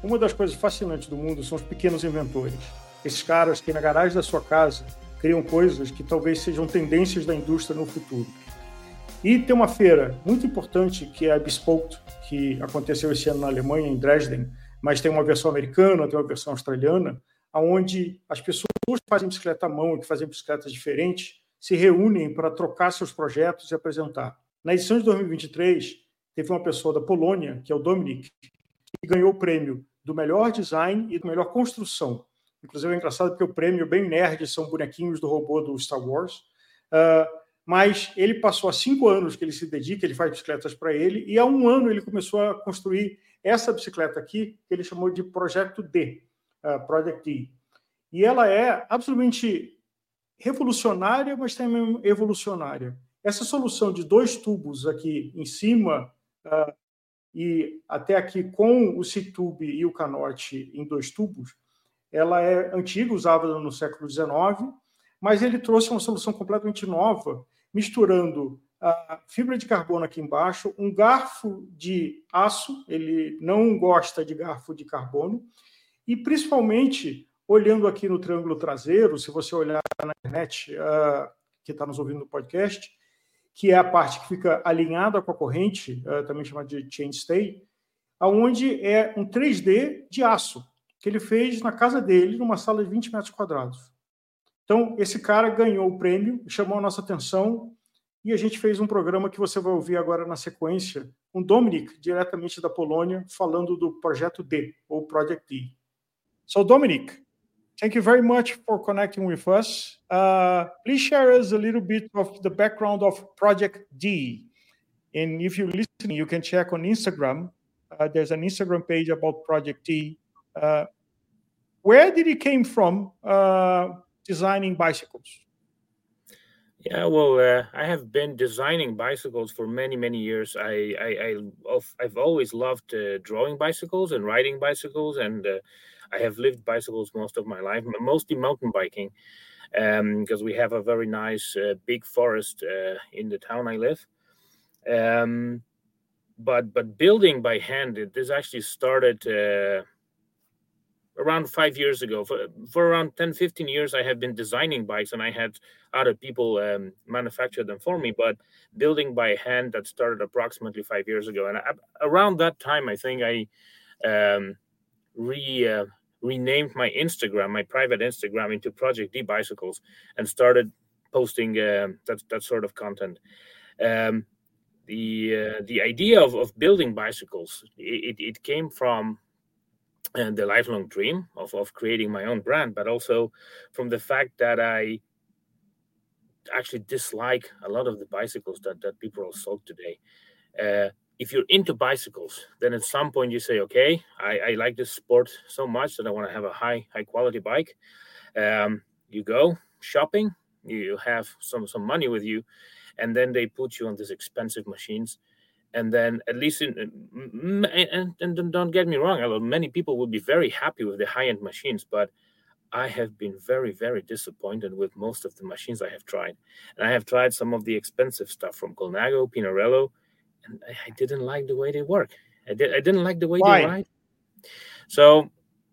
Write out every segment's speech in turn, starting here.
Uma das coisas fascinantes do mundo são os pequenos inventores. Esses caras que na garagem da sua casa criam coisas que talvez sejam tendências da indústria no futuro. E tem uma feira muito importante que é a Bespoke, que aconteceu esse ano na Alemanha, em Dresden, mas tem uma versão americana, tem uma versão australiana, onde as pessoas que fazem bicicleta à mão e que fazem bicicletas diferentes se reúnem para trocar seus projetos e apresentar. Na edição de 2023, teve uma pessoa da Polônia, que é o Dominik, que ganhou o prêmio do melhor design e da melhor construção. Inclusive é engraçado porque o prêmio bem nerd, são bonequinhos do robô do Star Wars. Mas ele passou há 5 anos que ele se dedica, ele faz bicicletas para ele, e há 1 ano ele começou a construir essa bicicleta aqui, que ele chamou de Projeto D, Project D. E ela é absolutamente revolucionária, mas também evolucionária. Essa solução de 2 tubos aqui em cima, e até aqui com o C-tube e o canote em 2 tubos, ela é antiga, usada no século XIX, mas ele trouxe uma solução completamente nova, misturando a fibra de carbono aqui embaixo, um garfo de aço, ele não gosta de garfo de carbono, e principalmente, olhando aqui no triângulo traseiro, se você olhar na internet, que está nos ouvindo no podcast, que é a parte que fica alinhada com a corrente, também chamada de chainstay, onde é um 3D de aço, que ele fez na casa dele, numa sala de 20 metros quadrados. Então, esse cara ganhou o prêmio, chamou a nossa atenção, e a gente fez um programa que você vai ouvir agora na sequência, com Dominik, diretamente da Polônia, falando do Projeto D, ou Project D. So, Dominik, thank you very much for connecting with us. Please share us a little bit of the background of Project D. And if you're listening, you can check on Instagram. There's an Instagram page about Project D. Where did it came from designing bicycles? Yeah, well, I have been designing bicycles for many, many years. I've always loved drawing bicycles and riding bicycles, and I have lived bicycles most of my life, mostly mountain biking, because we have a very nice big forest in the town I live. But building by hand, this actually started around 5 years ago. For around 10, 15 years, I have been designing bikes, and I had other people manufacture them for me. But building by hand, that started approximately 5 years ago. And around that time, I think I renamed my Instagram, my private Instagram, into Project D Bicycles, and started posting that sort of content. The idea of building bicycles, it came from the lifelong dream of creating my own brand, but also from the fact that I actually dislike a lot of the bicycles that people are sold today. If you're into bicycles, then at some point you say, okay, I like this sport so much that I want to have a high quality bike. You go shopping, you have some money with you, and then they put you on these expensive machines. And then, at least and don't get me wrong, many people will be very happy with the high-end machines, but I have been very, very disappointed with most of the machines I have tried. And I have tried some of the expensive stuff from Colnago, Pinarello, and I didn't like the way they work. I didn't like the way they ride. So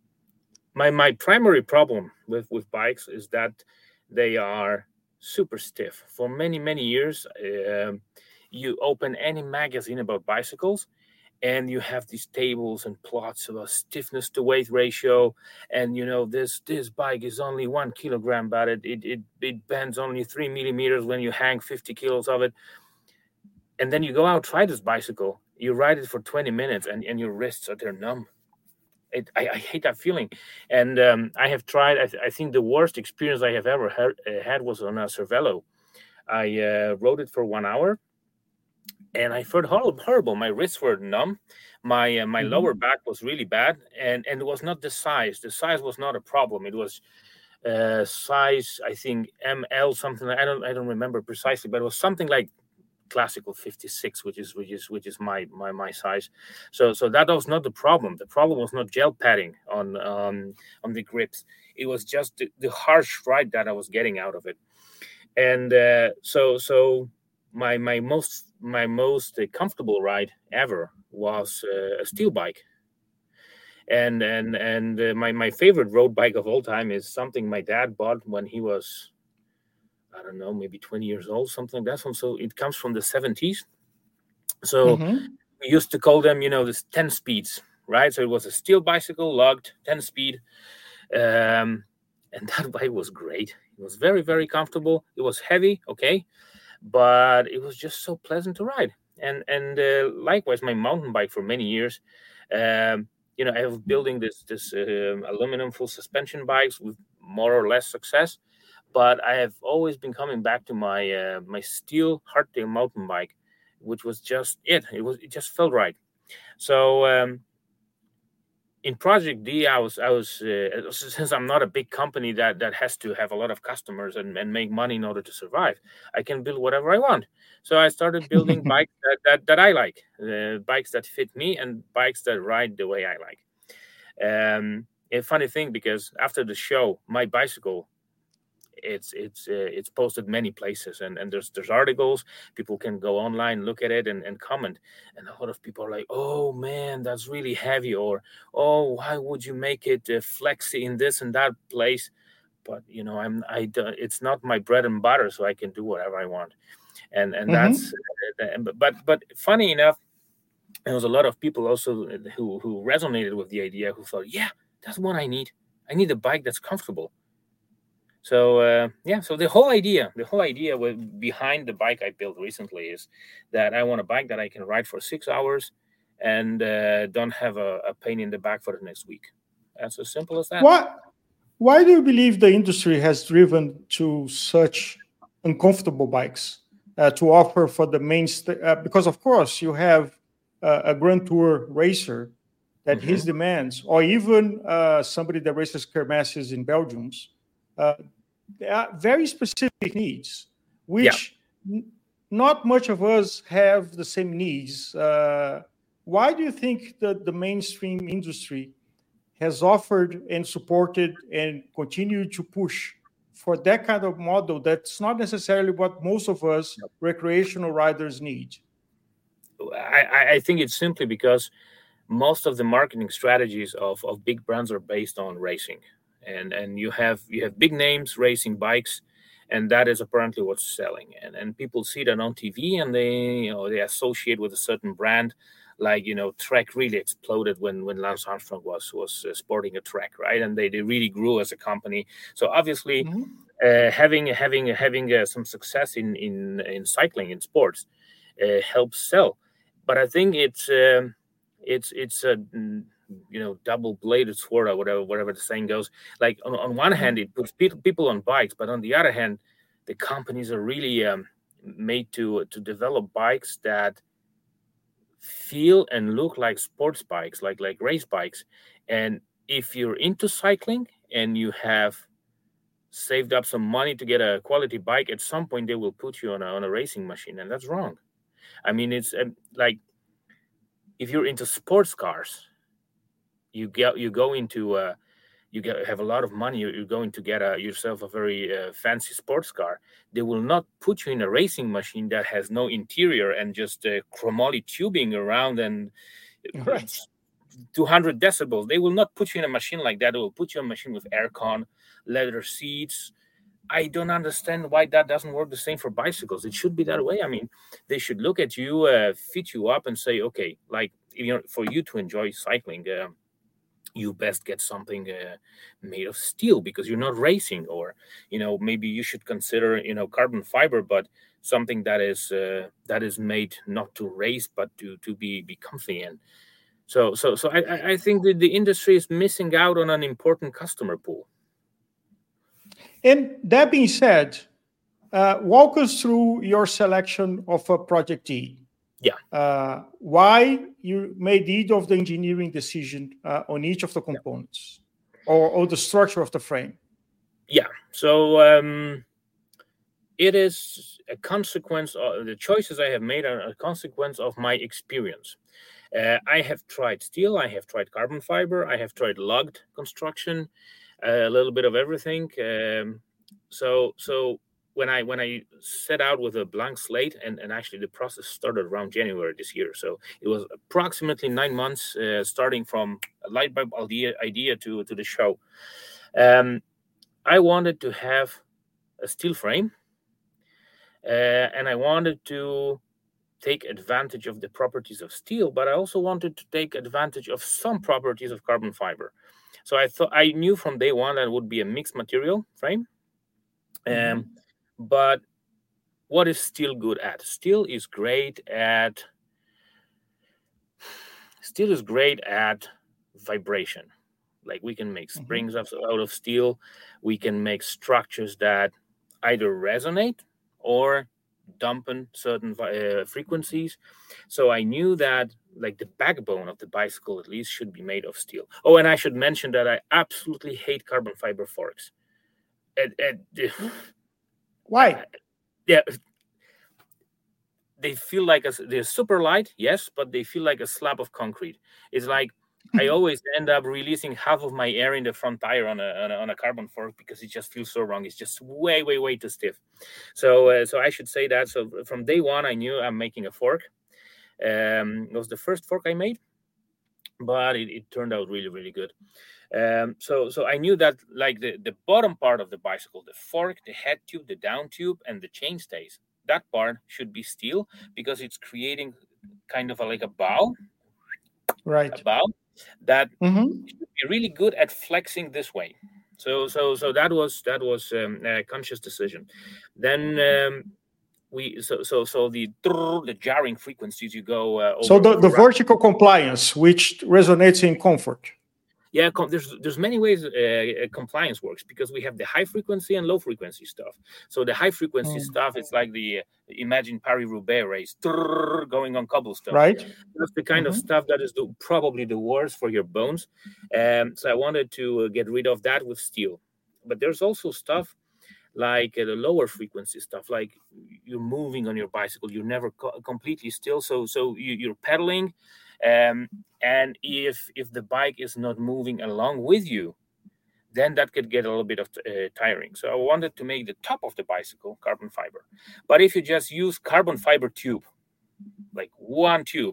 my primary problem with bikes is that they are super stiff. For many, many years, you open any magazine about bicycles, and you have these tables and plots about stiffness to weight ratio, and this bike is only 1 kilogram, but it bends only 3 millimeters when you hang 50 kilos of it. And then you go out, try this bicycle, you ride it for 20 minutes, and your wrists are numb. I hate that feeling. And I have tried, I think the worst experience I have ever had was on a Cervelo. I rode it for 1 hour, and I felt horrible. My wrists were numb. My lower back was really bad, and it was not the size. The size was not a problem. It was size, I think ML something. I don't remember precisely, but it was something like classical 56, which is my size. So that was not the problem. The problem was not gel padding on the grips. It was just the harsh ride that I was getting out of it. And so my most comfortable ride ever was a steel bike. My favorite road bike of all time is something my dad bought when he was, I don't know, maybe 20 years old, something like that. So it comes from the 70s. So we used to call them, this 10 speeds, right? So it was a steel bicycle, logged 10 speed. And that bike was great. It was very, very comfortable. It was heavy, okay, but it was just so pleasant to ride. And likewise, my mountain bike for many years. I have building this aluminum full suspension bikes with more or less success, but I have always been coming back to my my steel hardtail mountain bike, which was just it. It just felt right. So in Project D, I was since I'm not a big company that has to have a lot of customers and make money in order to survive, I can build whatever I want. So I started building bikes that I like, bikes that fit me, and bikes that ride the way I like. A funny thing, because after the show, my bicycle, it's posted many places, and there's articles. People can go online, look at it, and comment. And a lot of people are like, "Oh man, that's really heavy," or "Oh, why would you make it flexy in this and that place?" But it's not my bread and butter, so I can do whatever I want. And that's but funny enough, there was a lot of people also who resonated with the idea, who thought, "Yeah, that's what I need. I need a bike that's comfortable." So so the whole idea behind the bike I built recently is that I want a bike that I can ride for 6 hours and don't have a pain in the back for the next week. That's as simple as that. Why do you believe the industry has driven to such uncomfortable bikes to offer for the because of course you have a Grand Tour racer that his demands, or even somebody that races kermesses in Belgium. There are very specific needs, which not much of us have the same needs. Why do you think that the mainstream industry has offered and supported and continued to push for that kind of model that's not necessarily what most of us recreational riders need? I think it's simply because most of the marketing strategies of big brands are based on racing. And you have big names racing bikes, and that is apparently what's selling. And people see that on TV, and they associate with a certain brand. Like Trek really exploded when Lance Armstrong was sporting a Trek, right? And they really grew as a company. So obviously, having some success in cycling, in sports, helps sell. But I think it's a double-bladed sword, or whatever the saying goes. Like on one hand, it puts people on bikes, but on the other hand, the companies are really made to develop bikes that feel and look like sports bikes, like race bikes. And if you're into cycling and you have saved up some money to get a quality bike, at some point they will put you on a racing machine, and that's wrong. I mean, it's like, if you're into sports cars, you have a lot of money, you're going to get yourself a very fancy sports car. They will not put you in a racing machine that has no interior and just chromoly tubing around and 200 decibels. They will not put you in a machine like that. They will put you in a machine with aircon, leather seats. I don't understand why that doesn't work the same for bicycles. It should be that way. I mean, they should look at you, fit you up, and say, okay, like, for you to enjoy cycling, you best get something made of steel, because you're not racing. Or maybe you should consider carbon fiber, but something that is made not to race but to be comfy. And so I think that the industry is missing out on an important customer pool. And that being said, walk us through your selection of a Project D. Yeah. Why you made each of the engineering decision on each of the components, or the structure of the frame? Yeah. So it is a consequence of the choices I have made, are a consequence of my experience. I have tried steel, I have tried carbon fiber, I have tried logged construction, a little bit of everything. So when I set out with a blank slate, and actually the process started around January this year. So it was approximately 9 months, starting from a light bulb idea to the show. I wanted to have a steel frame, and I wanted to take advantage of the properties of steel, but I also wanted to take advantage of some properties of carbon fiber. So I knew from day one that it would be a mixed material frame. But what is steel good at? Steel is great at vibration. Like, we can make springs out of steel. We can make structures that either resonate or dampen certain frequencies. So I knew that, like, the backbone of the bicycle at least should be made of steel. Oh, and I should mention that I absolutely hate carbon fiber forks. Why? Yeah, they feel like they're super light, yes, but they feel like a slab of concrete. It's like I always end up releasing half of my air in the front tire on a carbon fork because it just feels so wrong. It's just way too stiff. So I should say that. So from day one, I knew I'm making a fork. It was the first fork I made, but it turned out really good. So I knew that, like, the bottom part of the bicycle, the fork, the head tube, the down tube, and the chainstays, that part should be steel because it's creating kind of like a bow. Right. A bow that should be really good at flexing this way. So that was a conscious decision. Then the jarring frequencies you go over. So the vertical compliance, which resonates in comfort. Yeah, there's many ways compliance works, because we have the high frequency and low frequency stuff. So the high frequency stuff, it's like the imagine Paris-Roubaix race going on cobblestone. Right. That's the kind of stuff that is probably the worst for your bones. So I wanted to get rid of that with steel. But there's also stuff like the lower frequency stuff, like you're moving on your bicycle, you're never completely still. So you're pedaling. And if the bike is not moving along with you, then that could get a little bit of tiring. So I wanted to make the top of the bicycle carbon fiber. But if you just use carbon fiber tube, like one tube,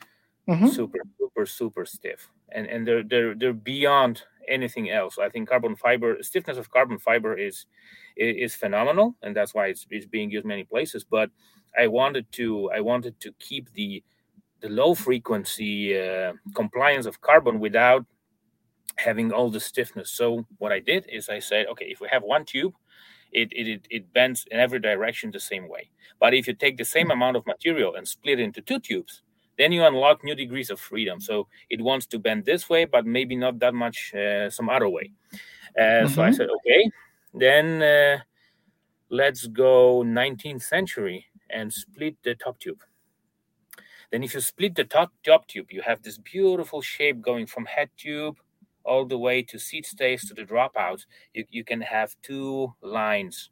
super stiff, and they're beyond anything else. I think stiffness of carbon fiber is phenomenal, and that's why it's being used many places. But I wanted to keep the low frequency compliance of carbon without having all the stiffness. So what I did is I said, okay, if we have one tube, it bends in every direction the same way. But if you take the same amount of material and split it into two tubes, then you unlock new degrees of freedom. So it wants to bend this way, but maybe not that much some other way. So I said, okay, then let's go 19th century and split the top tube. Then if you split the top tube, you have this beautiful shape going from head tube all the way to seat stays to the dropouts. You can have two lines.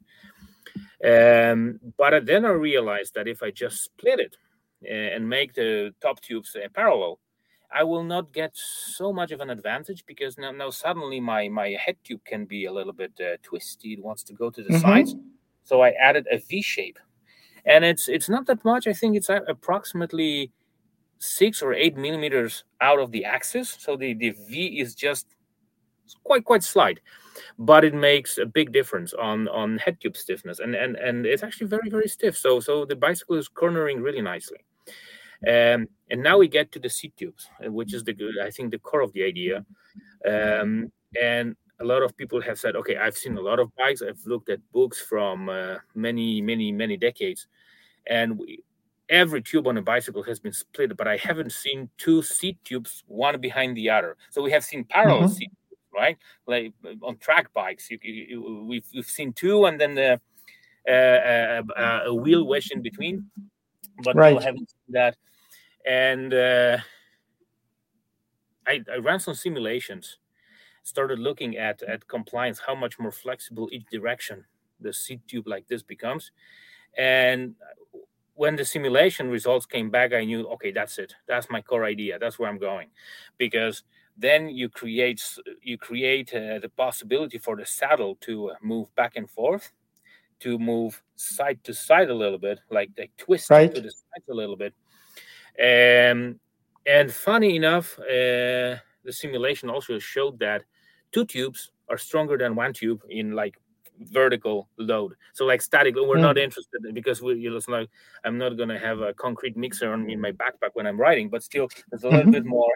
But then I realized that if I just split it and make the top tubes parallel, I will not get so much of an advantage, because now suddenly my head tube can be a little bit twisty. It wants to go to the sides. So I added a V shape. And it's not that much. I think it's approximately 6 or 8 millimeters out of the axis. So the V is just quite slight, but it makes a big difference on head tube stiffness. And it's actually very stiff. So the bicycle is cornering really nicely. And now we get to the seat tubes, which is I think the core of the idea. And a lot of people have said, okay, I've seen a lot of bikes. I've looked at books from many decades, and every tube on a bicycle has been split, but I haven't seen two seat tubes, one behind the other. So we have seen parallel seat tubes, right? Like on track bikes, we've seen two, and then a wheel wedged in between. But people haven't seen that. And I ran some simulations, started looking at compliance, how much more flexible each direction the seat tube like this becomes. And when the simulation results came back, I knew, okay, that's it. That's my core idea. That's where I'm going. Because then you create the possibility for the saddle to move back and forth, to move side to side a little bit, like twist Right. to the sides a little bit. And funny enough, the simulation also showed that 2 tubes are stronger than 1 tube in like vertical load. So like static, we're not interested because I'm not going to have a concrete mixer in my backpack when I'm riding, but still there's a little bit more,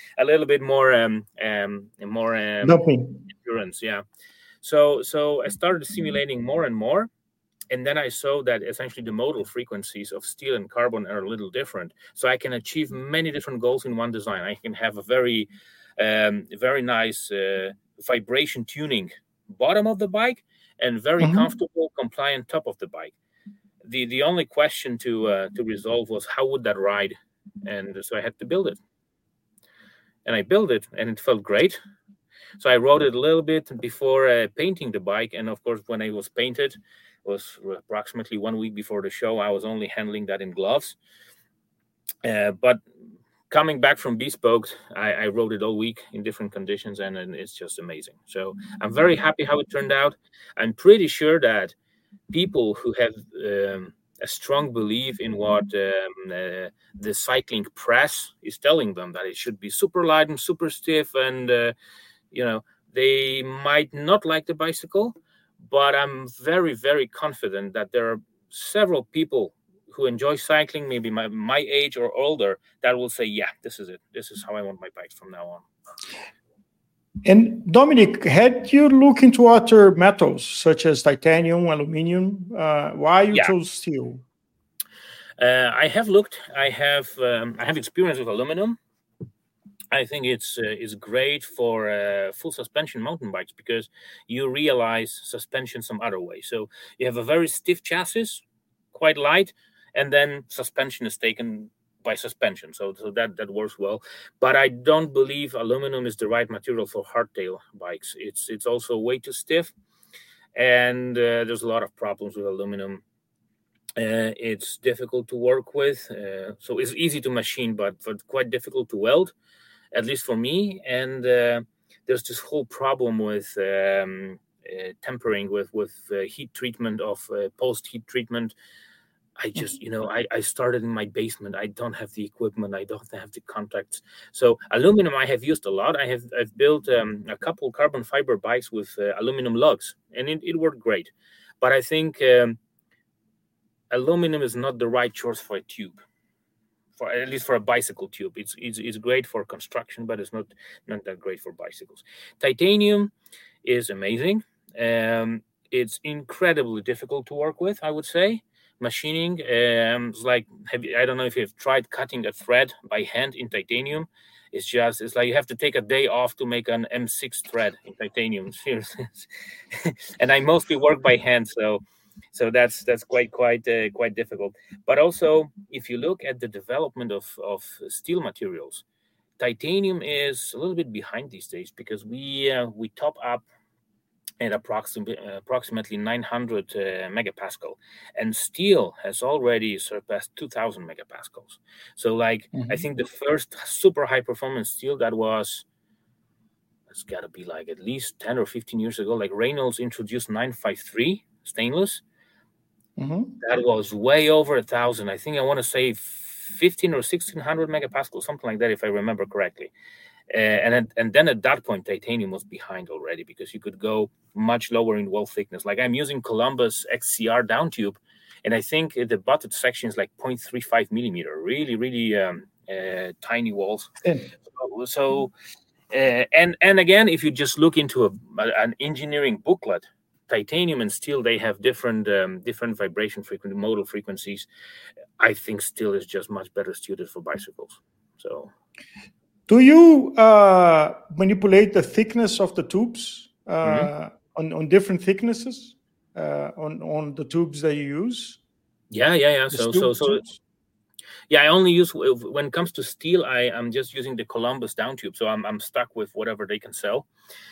endurance. Yeah. So I started simulating more and more. And then I saw that essentially the modal frequencies of steel and carbon are a little different. So I can achieve many different goals in one design. I can have a very, very nice vibration tuning bottom of the bike and very comfortable, compliant top of the bike. The only question to resolve was how would that ride? And so I had to build it. And I built it, and it felt great. So I rode it a little bit before painting the bike. And of course, when it was painted, it was approximately 1 week before the show. I was only handling that in gloves. But coming back from Bespoke, I rode it all week in different conditions, and it's just amazing. So I'm very happy how it turned out. I'm pretty sure that people who have a strong belief in what the cycling press is telling them, that it should be super light and super stiff, and they might not like the bicycle, but I'm very, very confident that there are several people who enjoy cycling, maybe my age or older, that will say, yeah, this is it. This is how I want my bikes from now on. And Dominic, had you looked into other metals such as titanium, aluminum? Why you chose steel? I have looked. I have experience with aluminum. I think it's great for full suspension mountain bikes because you realize suspension some other way. So you have a very stiff chassis, quite light, and then suspension is taken by suspension. So that works well. But I don't believe aluminum is the right material for hardtail bikes. It's also way too stiff, and there's a lot of problems with aluminum. It's difficult to work with. So it's easy to machine, but quite difficult to weld, at least for me. And there's this whole problem with tempering with heat treatment of post-heat treatment. I just, I started in my basement. I don't have the equipment. I don't have the contacts. So aluminum I have used a lot. I've built a couple carbon fiber bikes with aluminum lugs, and it worked great. But I think aluminum is not the right choice for a tube. At least for a bicycle tube, it's great for construction, but it's not that great for bicycles. Titanium is amazing. It's incredibly difficult to work with, I would say. Machining, it's like, I don't know if you've tried cutting a thread by hand in titanium. It's like you have to take a day off to make an M6 thread in titanium. Seriously. And I mostly work by hand, so that's quite difficult. But also, if you look at the development of steel materials, titanium is a little bit behind these days because we top up at approximately 900 megapascal, and steel has already surpassed 2000 megapascals. So I think the first super high performance steel it's got to be like at least 10 or 15 years ago, like Reynolds introduced 953 stainless. That was way over 1,000. I think I want to say 15 or 1600 megapascals, something like that, if I remember correctly. And then at that point, titanium was behind already because you could go much lower in wall thickness. Like I'm using Columbus XCR down tube, and I think the butted section is like 0.35 millimeter, really, really tiny walls. So and again, if you just look into an engineering booklet, titanium and steel, they have different vibration modal frequencies. I think steel is just much better suited for bicycles. So, do you manipulate the thickness of the tubes on different thicknesses on the tubes that you use? Yeah. So yeah, I only use, when it comes to steel, I'm just using the Columbus down tube. So I'm stuck with whatever they can sell.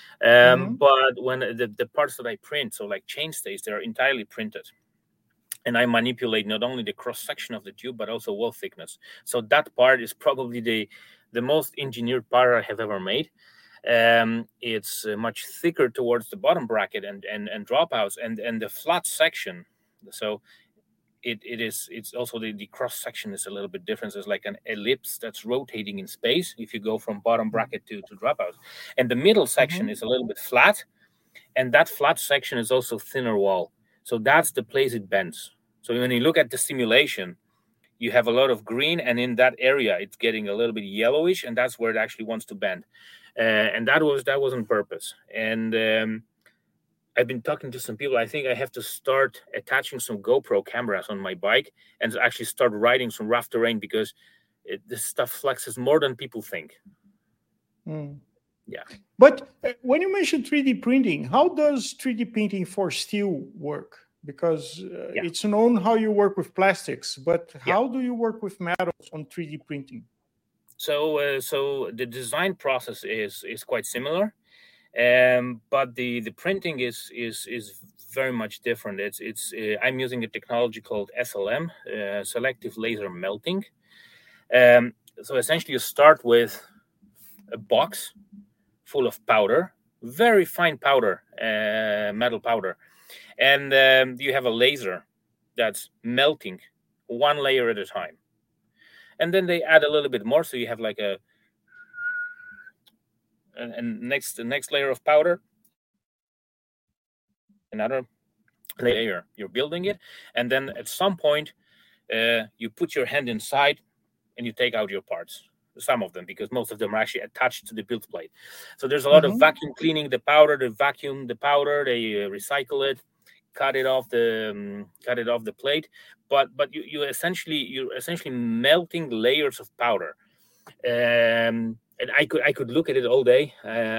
But when the parts that I print, so like chainstays, they're entirely printed. And I manipulate not only the cross section of the tube, but also wall thickness. So that part is probably the most engineered part I have ever made. It's much thicker towards the bottom bracket and dropouts and the flat section. So it's also the cross section is a little bit different. It's like an ellipse that's rotating in space if you go from bottom bracket to dropouts. And the middle section is a little bit flat, and that flat section is also thinner wall. So that's the place it bends. So when you look at the simulation, you have a lot of green, and in that area it's getting a little bit yellowish, and that's where it actually wants to bend. And that was on purpose. And I've been talking to some people. I think I have to start attaching some GoPro cameras on my bike and actually start riding some rough terrain, because this stuff flexes more than people think. Yeah. But when you mention 3D printing, how does 3D printing for steel work? Because it's known how you work with plastics, but how do you work with metals on 3D printing? So the design process is quite similar, but the printing is very much different. It's I'm using a technology called SLM, selective laser melting. So essentially, you start with a box full of powder, very fine powder, metal powder, and you have a laser that's melting one layer at a time. And then they add a little bit more, so you have like the next layer of powder, another layer. You're building it, and then at some point, you put your hand inside, and you take out your parts. Some of them, because most of them are actually attached to the build plate. So there's a lot of vacuum cleaning the powder. They vacuum the powder, they recycle it, cut it off the plate. But you're essentially melting layers of powder. And I could look at it all day.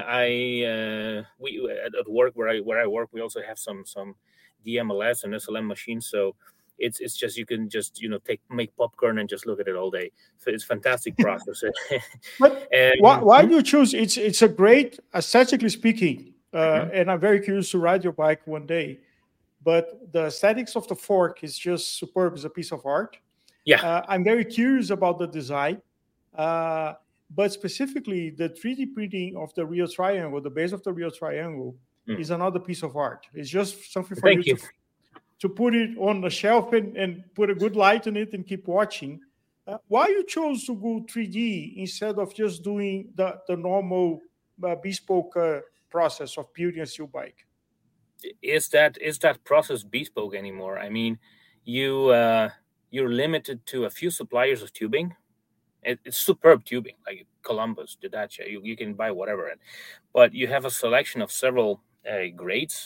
We at work where I work, we also have some DMLS and SLM machines. So it's just, you can just make popcorn and just look at it all day. So it's a fantastic process. But why do you choose? It's a great, aesthetically speaking, and I'm very curious to ride your bike one day. But the aesthetics of the fork is just superb. It's a piece of art. Yeah. I'm very curious about the design. But specifically, the 3D printing of the real triangle, the base of the real triangle, is another piece of art. It's just something for you to put it on the shelf and put a good light on it and keep watching. Why you chose to go 3D instead of just doing the normal bespoke process of building a steel bike? Is that process bespoke anymore? I mean, you're limited to a few suppliers of tubing. It's superb tubing, like Columbus, Didace. You can buy whatever, but you have a selection of several grades,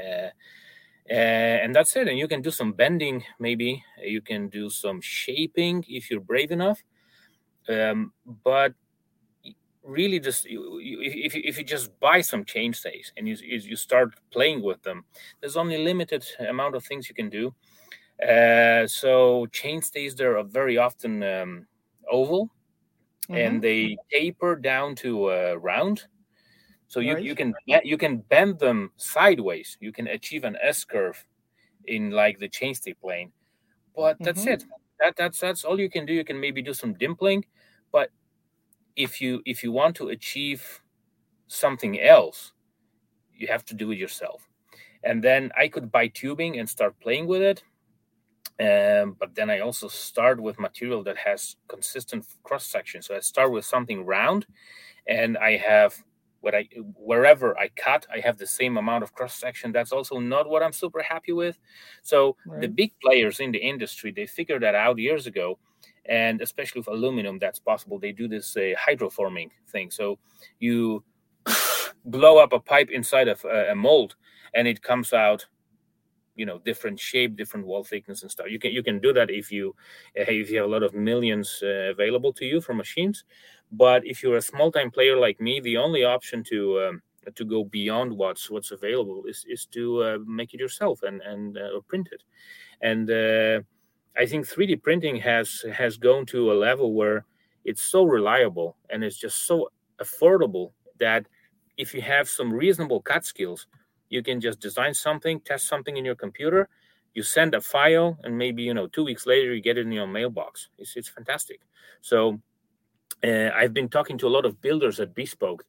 and that's it. And you can do some bending, maybe you can do some shaping if you're brave enough. But really, just if you just buy some chainstays and you start playing with them, there's only limited amount of things you can do. So chainstays there are very often oval, and they taper down to round. So you can bend them sideways. You can achieve an S curve in like the chainstay plane, but that's it. That's all you can do. You can maybe do some dimpling, but if you want to achieve something else, you have to do it yourself. And then I could buy tubing and start playing with it. But then I also start with material that has consistent cross section. So I start with something round, and I have wherever I cut, I have the same amount of cross section. That's also not what I'm super happy with. So the big players in the industry, they figured that out years ago, and especially with aluminum, that's possible. They do this hydroforming thing. So you blow up a pipe inside of a mold, and it comes out, different shape, different wall thickness and stuff. You can do that if you have a lot of millions available to you for machines. But if you're a small time player like me, the only option to go beyond what's available is to make it yourself and print it. And I think 3D printing has gone to a level where it's so reliable and it's just so affordable that if you have some reasonable cut skills, you can just design something, test something in your computer, you send a file, and maybe 2 weeks later you get it in your mailbox. It's fantastic. So I've been talking to a lot of builders at Bespoke,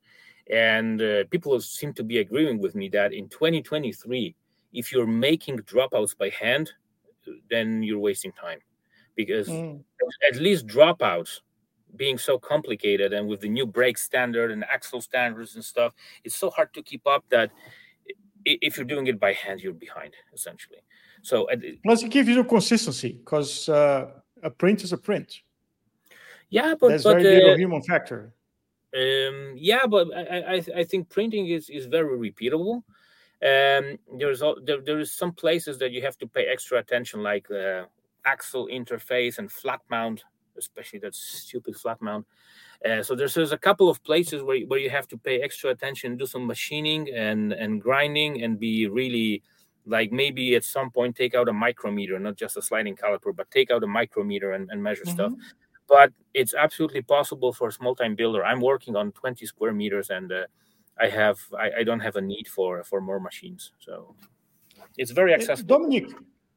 And people seem to be agreeing with me that in 2023, if you're making dropouts by hand, then you're wasting time, because at least dropouts being so complicated, and with the new brake standard and axle standards and stuff, it's so hard to keep up that if you're doing it by hand, you're behind, essentially. So plus it gives you consistency, because a print is a print. Yeah, but there's very little human factor. Yeah, but I think printing is very repeatable. There is some places that you have to pay extra attention, like axle interface and flat mount, especially that stupid flat mount. So there's a couple of places where you have to pay extra attention, do some machining and grinding, and be really, like, maybe at some point take out a micrometer, not just a sliding caliper, but take out a micrometer and measure stuff. But it's absolutely possible for a small-time builder. I'm working on 20 square meters, and I don't have a need for more machines. So it's very accessible. Dominic,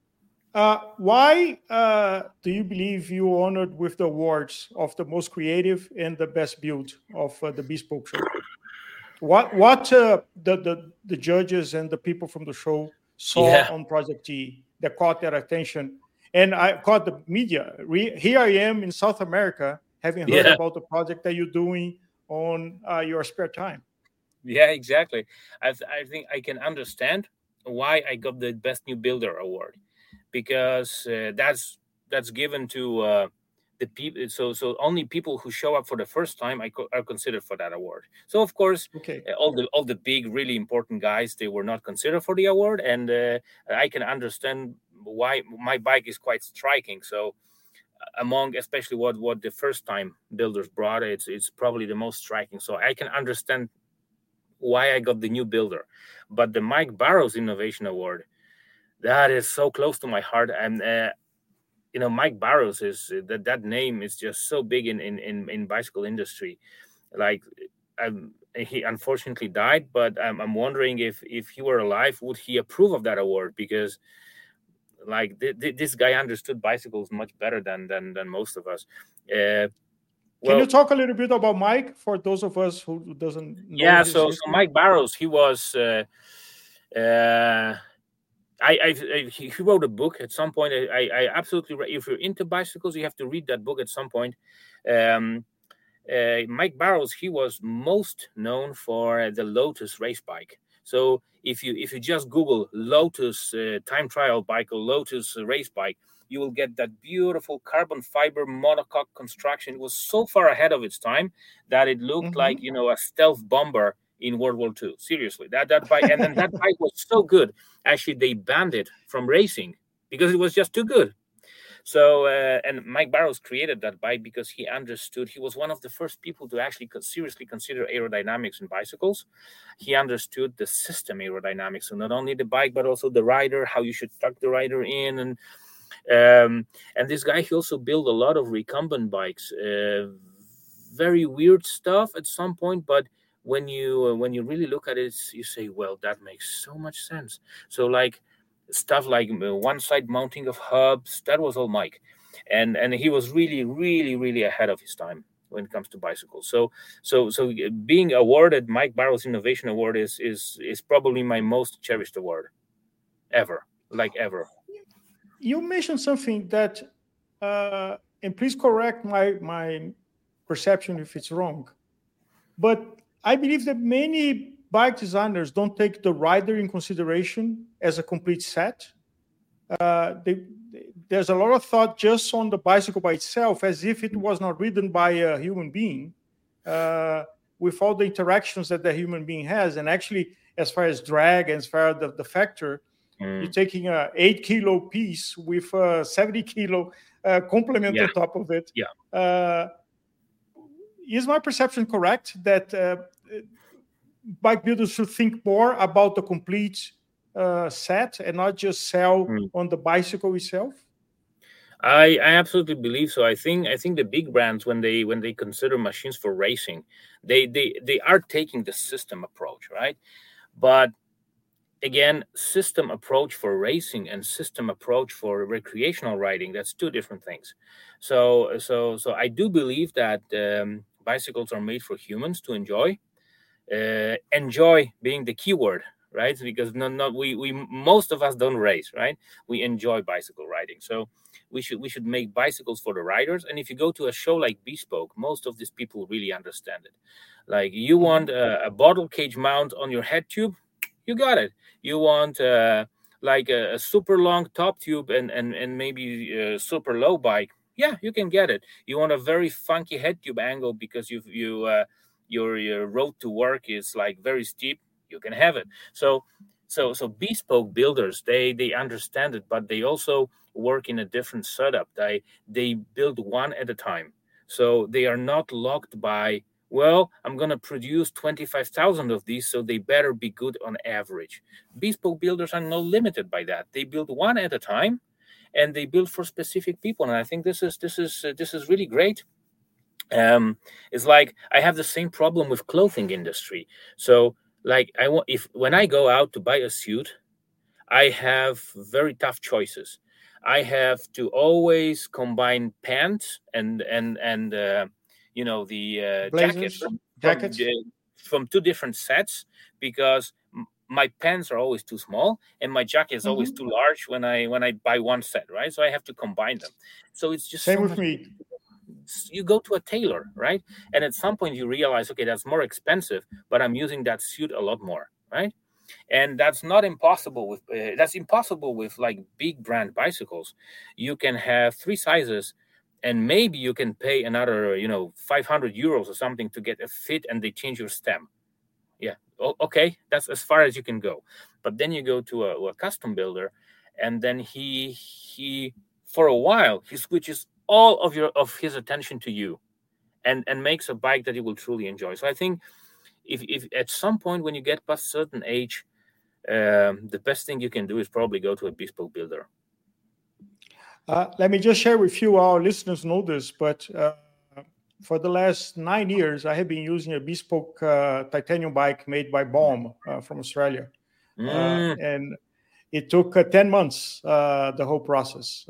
why do you believe you were honored with the awards of the most creative and the best build of the Bespoke show? What the judges and the people from the show saw on Project T that caught their attention? And I caught the media. Here I am in South America, having heard about the project that you're doing on your spare time. Yeah, exactly. I think I can understand why I got the Best New Builder award, because that's given to the people. So only people who show up for the first time are considered for that award. So of course, all the big, really important guys, they were not considered for the award, and I can understand why. My bike is quite striking. So among especially what the first time builders brought, it's probably the most striking. So I can understand why I got the New Builder. But the Mike Barrows Innovation Award, that is so close to my heart. And Mike Barrows is that name is just so big in bicycle industry. Like, he unfortunately died, but I'm wondering if he were alive, would he approve of that award? Because like this guy understood bicycles much better than most of us. Can you talk a little bit about Mike for those of us who doesn't know? Yeah, so Mike Barrows, he was he wrote a book at some point. I absolutely, if you're into bicycles, you have to read that book at some point. Mike Barrows, he was most known for the Lotus race bike. So if you just Google Lotus time trial bike or Lotus race bike, you will get that beautiful carbon fiber monocoque construction. It was so far ahead of its time that it looked like, a stealth bomber in World War II. Seriously, that bike, and then that bike was so good. Actually, they banned it from racing because it was just too good. So, and Mike Barrows created that bike because he understood. He was one of the first people to actually seriously consider aerodynamics in bicycles. He understood the system aerodynamics, so not only the bike but also the rider, how you should tuck the rider in, and this guy, he also built a lot of recumbent bikes. Very weird stuff at some point, but when you really look at it, you say, well, that makes so much sense. So like stuff like one side mounting of hubs, that was all Mike, and he was really, really, really ahead of his time when it comes to bicycles. So being awarded Mike Barrows Innovation Award is probably my most cherished award ever. You mentioned something that, and please correct my perception if it's wrong, but I believe that many bike designers don't take the rider in consideration as a complete set. There's a lot of thought just on the bicycle by itself, as if it was not ridden by a human being, with all the interactions that the human being has. And actually, as far as drag, as far as the factor, you're taking an 8-kilo piece with a 70-kilo complement on top of it. Is my perception correct that bike builders should think more about the complete set and not just sell on the bicycle itself? I absolutely believe so. I think the big brands, when they consider machines for racing, they are taking the system approach, right? But again, system approach for racing and system approach for recreational riding, that's two different things. So I do believe that bicycles are made for humans to enjoy. enjoy being the keyword, right? Because we most of us don't race, right? We enjoy bicycle riding, so we should make bicycles for the riders. And if you go to a show like Bespoke, most of these people really understand it. Like, you want a bottle cage mount on your head tube, you got it. You want like a super long top tube and maybe a super low bike, yeah, you can get it. You want a very funky head tube angle because your road to work is like very steep, you can have it. So bespoke builders, they understand it, but they also work in a different setup. They build one at a time, so they are not locked by, well, I'm going to produce 25,000 of these, so they better be good on average. Bespoke builders are not limited by that. They build one at a time, and they build for specific people. And I think this is really great. It's like I have the same problem with clothing industry. So, like, when I go out to buy a suit, I have very tough choices. I have to always combine pants and the Blazers, jackets from two different sets, because my pants are always too small and my jacket is always too large when I buy one set, right? So I have to combine them. So it's just same with me. You go to a tailor, right? And at some point you realize, okay, that's more expensive, but I'm using that suit a lot more, right? And that's not impossible with that's impossible with like big brand bicycles. You can have 3 sizes, and maybe you can pay another 500 euros or something to get a fit, and they change your stem. Yeah, okay, that's as far as you can go. But then you go to a custom builder, and then he for a while he switches all of his attention to you, and makes a bike that you will truly enjoy. So I think if at some point when you get past a certain age, the best thing you can do is probably go to a bespoke builder. Let me just share with you, our listeners know this, but for the last 9 years, I have been using a bespoke titanium bike made by Baum from Australia. And it took 10 months, the whole process.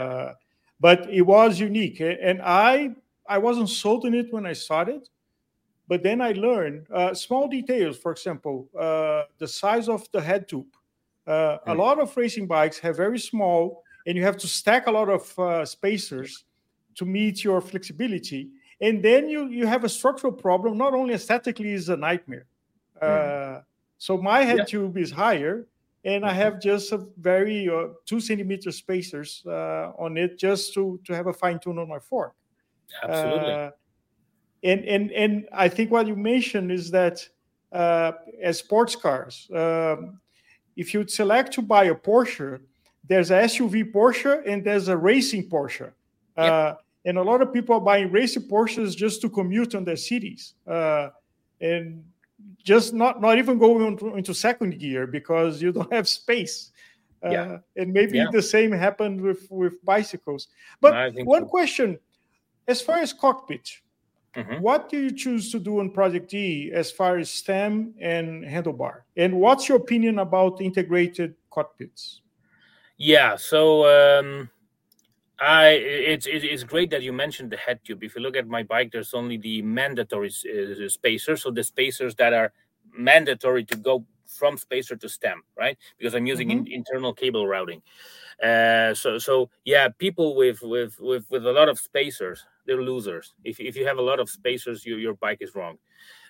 But it was unique. And I wasn't sold on it when I started. But then I learned small details. For example, the size of the head tube. A lot of racing bikes have very small, and you have to stack a lot of spacers to meet your flexibility. And then you have a structural problem. Not only aesthetically is a nightmare. So my head tube is higher, and I have just a very 2 centimeter spacers on it, just to have a fine tune on my fork. Absolutely. And I think what you mentioned is that as sports cars, if you select to buy a Porsche, there's a SUV Porsche and there's a racing Porsche. And a lot of people are buying racing Porsches just to commute on their cities. And just not even going into second gear because you don't have space. And maybe the same happened with bicycles. But one question, as far as cockpit, what do you choose to do on Project D as far as stem and handlebar? And what's your opinion about integrated cockpits? Yeah, so it's great that you mentioned the head tube. If you look at my bike, there's only the mandatory spacers, so the spacers that are mandatory to go from spacer to stem, right? Because I'm using internal cable routing. So yeah, people with a lot of spacers, they're losers. If you have a lot of spacers, your bike is wrong.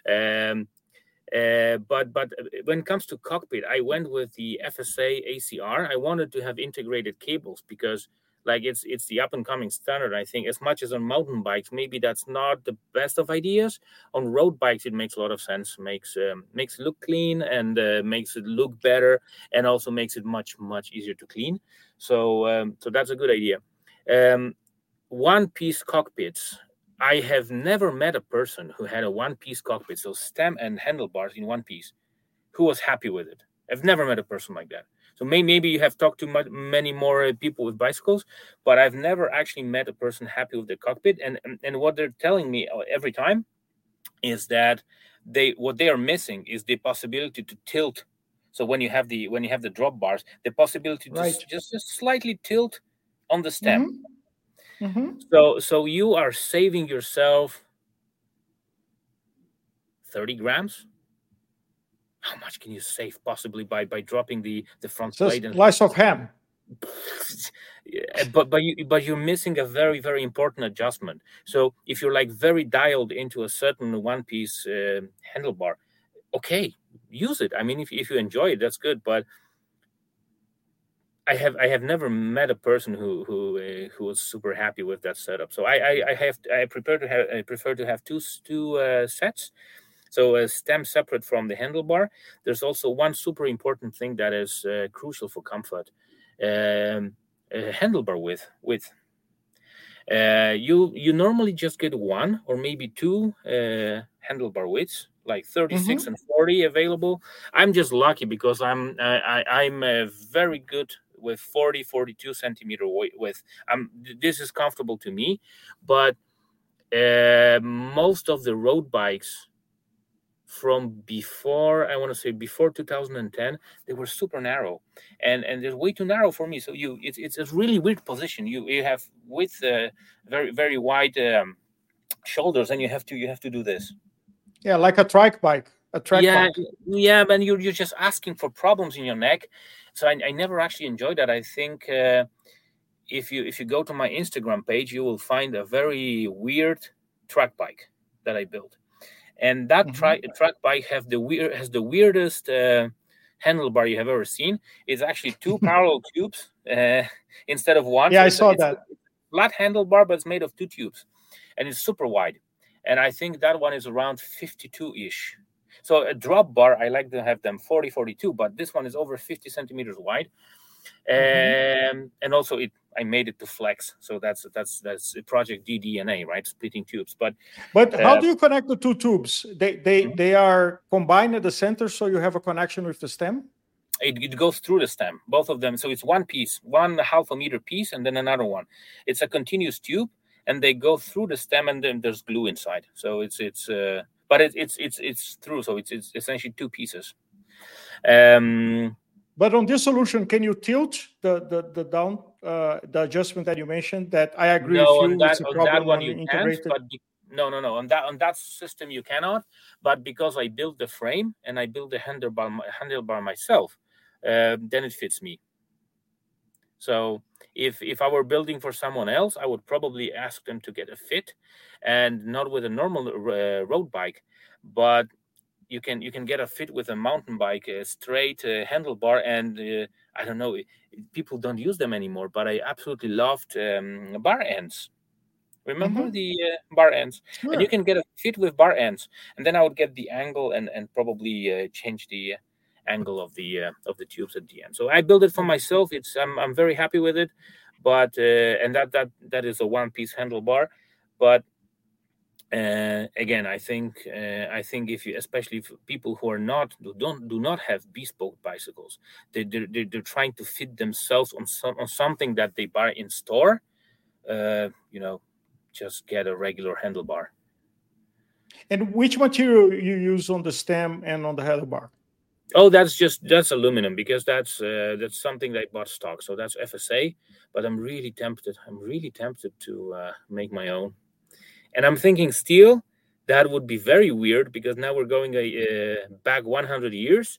But when it comes to cockpit, I went with the FSA ACR. I wanted to have integrated cables because like it's the up and coming standard. I think as much as on mountain bikes, maybe that's not the best of ideas. On road bikes, it makes a lot of sense. Makes it look clean and makes it look better, and also makes it much easier to clean. So that's a good idea. One-piece cockpits. I have never met a person who had a one-piece cockpit, so stem and handlebars in one piece, who was happy with it. I've never met a person like that. So maybe you have talked to many more people with bicycles, but I've never actually met a person happy with the cockpit. And what they're telling me every time is that what they are missing is the possibility to tilt. So when you have the drop bars, the possibility to just slightly tilt on the stem. So you are saving yourself 30 grams how much can you save possibly by dropping the front Just plate? And slice of ham. but you're missing a very, very important adjustment. So if you're like very dialed into a certain one-piece handlebar, okay, use it. I mean, if you enjoy it, that's good. But I have never met a person who was super happy with that setup. So I prefer to have two sets. So a stem separate from the handlebar. There's also one super important thing that is crucial for comfort: handlebar width. You normally just get one or maybe two handlebar widths, like 36 and 40 available. I'm just lucky because I'm very good with 42 centimeter width. This is comfortable to me, but most of the road bikes from before 2010, they were super narrow, and they're way too narrow for me. So it's a really weird position. You have with very, very wide shoulders, and you have to do this. Yeah, like a trike bike. A track bike. Yeah, but you're just asking for problems in your neck. So I never actually enjoyed that. I think if you go to my Instagram page, you will find a very weird track bike that I built. And that track bike has the weirdest handlebar you have ever seen. It's actually two parallel tubes instead of one. Yeah, so I saw that. A flat handlebar, but it's made of two tubes, and it's super wide. And I think that one is around 52-ish. So a drop bar, I like to have them 40, 42, but this one is over 50 centimeters wide. And also I made it to flex. So that's a Project DDNA, right? Splitting tubes. But how do you connect the two tubes? They are combined at the center, so you have a connection with the stem? It goes through the stem, both of them. So it's one piece, 1/2 meter piece, and then another one. It's a continuous tube, and they go through the stem, and then there's glue inside. So it's through. So it's essentially two pieces. But on this solution, can you tilt the down the adjustment that you mentioned? That I agree with you. It's a problem on that one you can't. But no. On that system you cannot. But because I built the frame and I built the handlebar myself, then it fits me. So if I were building for someone else, I would probably ask them to get a fit, and not with a normal road bike, but you can get a fit with a mountain bike, a straight handlebar, and I don't know, people don't use them anymore, but I absolutely loved bar ends. Remember the bar ends? Sure. And you can get a fit with bar ends, and then I would get the angle and probably change the angle of the tubes at the end. So I built it for myself. I'm very happy with it, but and that is a one-piece handlebar, but. Again, I think if you, especially for people who do not have bespoke bicycles, they're trying to fit themselves on something that they buy in store. Just get a regular handlebar. And which material you use on the stem and on the handlebar? Oh, that's aluminum, because that's something that I bought stock. So that's FSA. But I'm really tempted to make my own. And I'm thinking steel, that would be very weird, because now we're going back 100 years.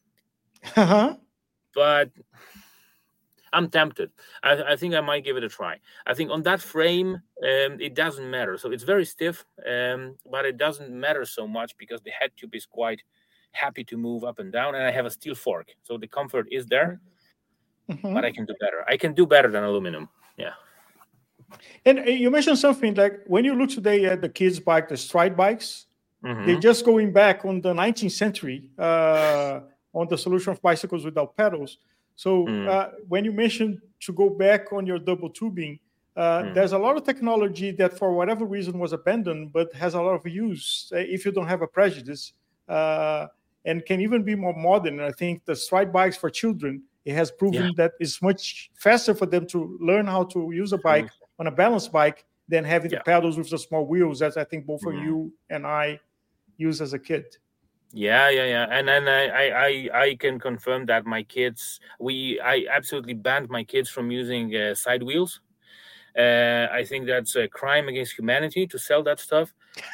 But I'm tempted. I think I might give it a try. I think on that frame, it doesn't matter. So it's very stiff, but it doesn't matter so much because the head tube is quite happy to move up and down, and I have a steel fork. So the comfort is there, but I can do better. I can do better than aluminum. Yeah. And you mentioned something like when you look today at the kids' bike, the stride bikes, they're just going back on the 19th century on the solution of bicycles without pedals. So when you mentioned to go back on your double tubing, there's a lot of technology that for whatever reason was abandoned, but has a lot of use if you don't have a prejudice, and can even be more modern. And I think the stride bikes for children, it has proven that it's much faster for them to learn how to use a bike on a balanced bike than having the pedals with the small wheels, as I think both of you and I used as a kid. Yeah. And then I can confirm that my kids, I absolutely banned my kids from using side wheels. I think that's a crime against humanity to sell that stuff.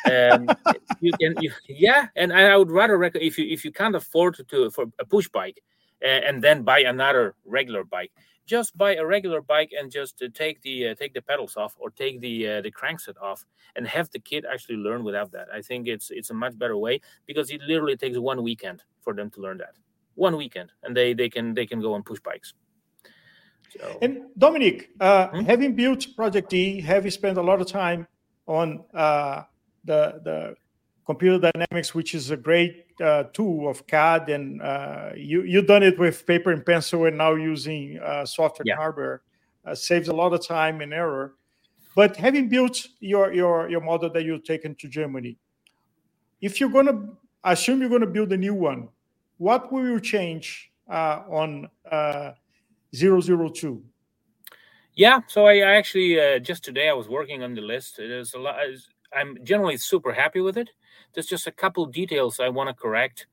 You can, yeah, and I would rather recommend if you can't afford for a push bike, and then buy another regular bike. Just buy a regular bike and just take the pedals off, or take the crankset off, and have the kid actually learn without that. I think it's a much better way, because it literally takes 1 weekend for them to learn that. 1 weekend, and they can go on push bikes. So. And Dominic, having built Project D, have you spent a lot of time on the Computer Dynamics, which is a great tool of CAD, and you've done it with paper and pencil, and now using software and hardware, saves a lot of time and error. But having built your model that you've taken to Germany, if you're going to assume you're going to build a new one, what will you change on 002? Yeah, so I actually just today I was working on the list. It is a lot. I'm generally super happy with it. There's just a couple details I want to correct.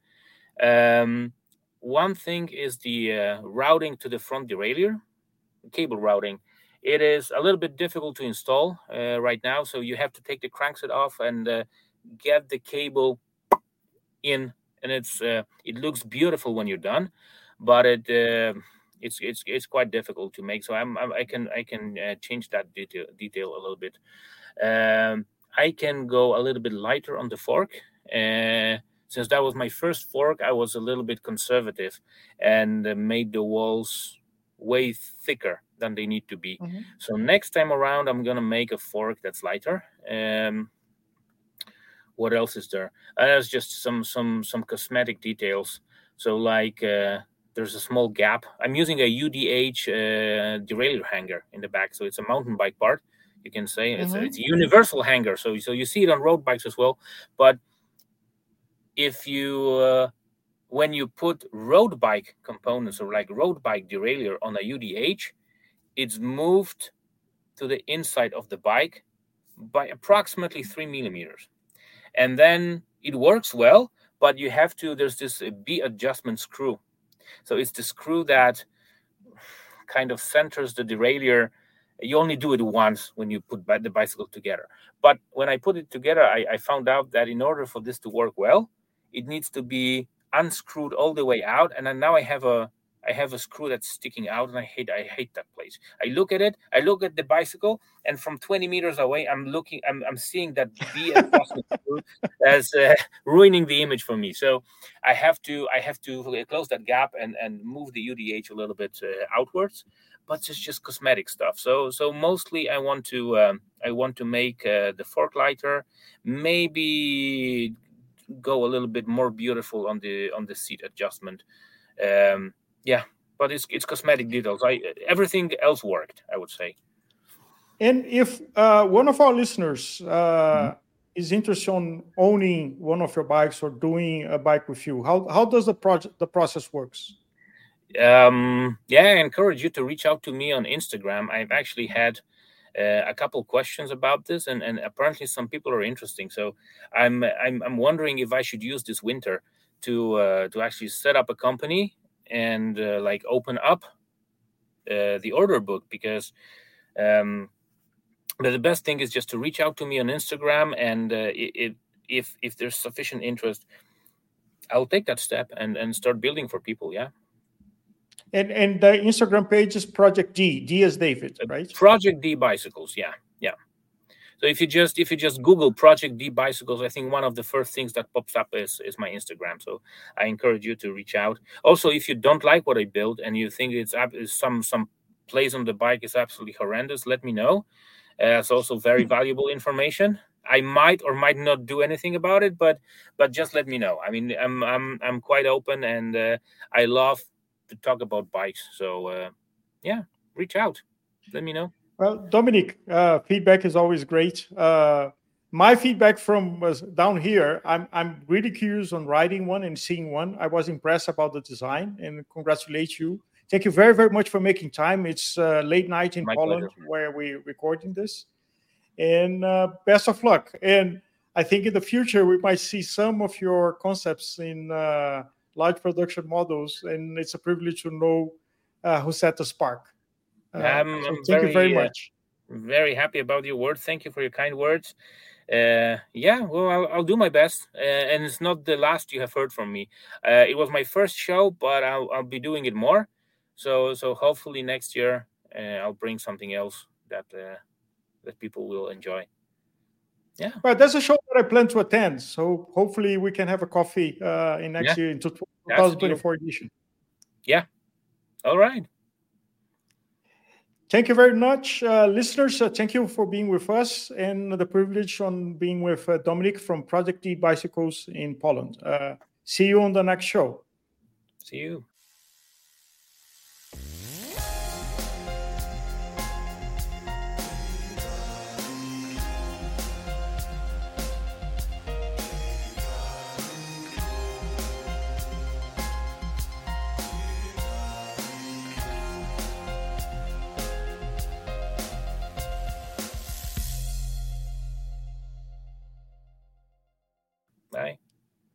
One thing is the routing to the front derailleur, cable routing. It is a little bit difficult to install right now, so you have to take the crankset off and get the cable in, and it looks beautiful when you're done, but it's quite difficult to make. So I can change that detail a little bit. I can go a little bit lighter on the fork. Since that was my first fork, I was a little bit conservative and made the walls way thicker than they need to be. Mm-hmm. So next time around, I'm gonna make a fork that's lighter. What else is there? There's just some cosmetic details. So like there's a small gap. I'm using a UDH derailleur hanger in the back, so it's a mountain bike part. You can say it's a universal hanger, so you see it on road bikes as well. But if you when you put road bike components, or like road bike derailleur on a UDH, it's moved to the inside of the bike by approximately 3 millimeters, and then it works well. But you have to. There's this B adjustment screw, so it's the screw that kind of centers the derailleur. You only do it once when you put the bicycle together. But when I put it together, I found out that in order for this to work well, it needs to be unscrewed all the way out. And then now I have a screw that's sticking out, and I hate that place. I look at it, I look at the bicycle, and from 20 meters away, I'm seeing that B adjustment screw as ruining the image for me. So I have to close that gap and move the UDH a little bit outwards. But it's just cosmetic stuff. So mostly I want to make the fork lighter, maybe go a little bit more beautiful on the seat adjustment. Yeah, but it's cosmetic details. Everything else worked, I would say. And if one of our listeners is interested in owning one of your bikes or doing a bike with you, how does the process works? I encourage you to reach out to me on Instagram. I've actually had a couple questions about this, and apparently some people are interested. So I'm wondering if I should use this winter to actually set up a company and like open up the order book, because but the best thing is just to reach out to me on Instagram, and if there's sufficient interest, I'll take that step and start building for people. Yeah. And the Instagram page is Project D. D as David, right? Project D Bicycles, yeah. So if you just Google Project D Bicycles, I think one of the first things that pops up is my Instagram. So I encourage you to reach out. Also, if you don't like what I built and you think it's some place on the bike is absolutely horrendous, let me know. It's also very valuable information. I might or might not do anything about it, but just let me know. I mean, I'm quite open, and I love to talk about bikes. So reach out, let me know. Well, Dominic, feedback is always great. My feedback from was down here. I'm really curious on riding one and seeing one. I was impressed about the design, and congratulate you. Thank you very, very much for making time. It's late night in Poland where we're recording this, and best of luck. And I think in the future we might see some of your concepts in large production models, and it's a privilege to know who set the spark. Thank you very much. Very happy about your words. Thank you for your kind words. Yeah, well, I'll do my best, and it's not the last you have heard from me. It was my first show, but I'll be doing it more. So hopefully next year I'll bring something else that people will enjoy. Yeah. Well, there's a show that I plan to attend, so hopefully we can have a coffee in next year, into 2024 edition. Yeah. All right. Thank you very much, listeners. Thank you for being with us, and the privilege on being with Dominic from Project E Bicycles in Poland. See you on the next show. See you.